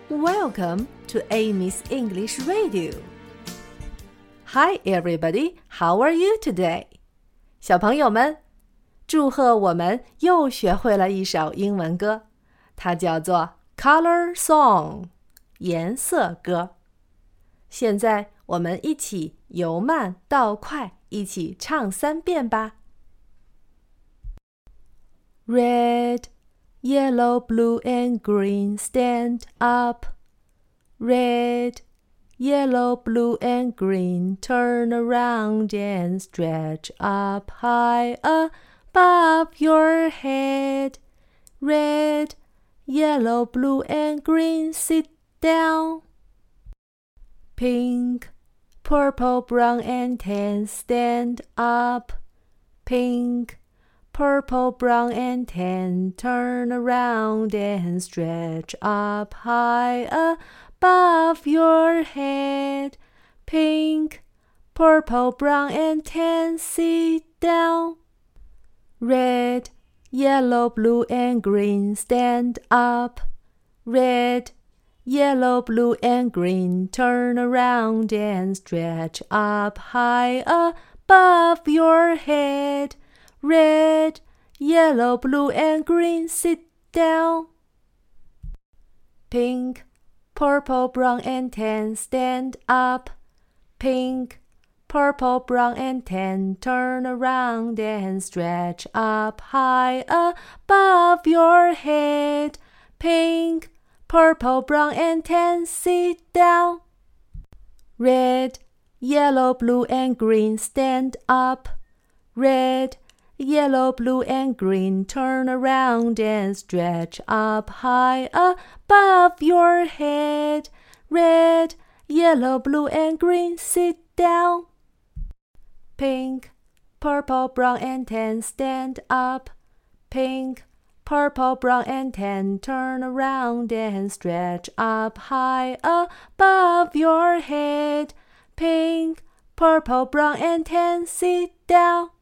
Welcome to Amy's English Radio. Hi everybody, how are you today? 小朋友们，祝贺我们又学会了一首英文歌，它叫做 Color Song 颜色歌。现在我们一起由慢到快，一起唱3遍吧。Red, yellow, blue and green, stand up. Red, yellow, blue and green, turn around and stretch up high above your head. Red, yellow, blue and green, sit down. Pink, purple, brown and tan, stand up. Pink, purple, brown and tan, turn around and stretch up high above your head. Pink, purple, brown and tan, sit down. Red, yellow, blue and green, stand up. Red, yellow, blue and green, turn around and stretch up high above your head. Red, yellow, blue and green, sit down. Pink, purple, brown and tan, stand up. Pink, purple, brown and tan, turn around and stretch up high above your head. Pink, purple, brown and tan, sit down. Red, yellow, blue and green, stand up. Red, yellow, blue and green, turn around and stretch up high above your head. Red, yellow, blue and green, sit down. Pink, purple, brown and tan, stand up. Pink, purple, brown and tan, turn around and stretch up high above your head. Pink, purple, brown and tan, sit down.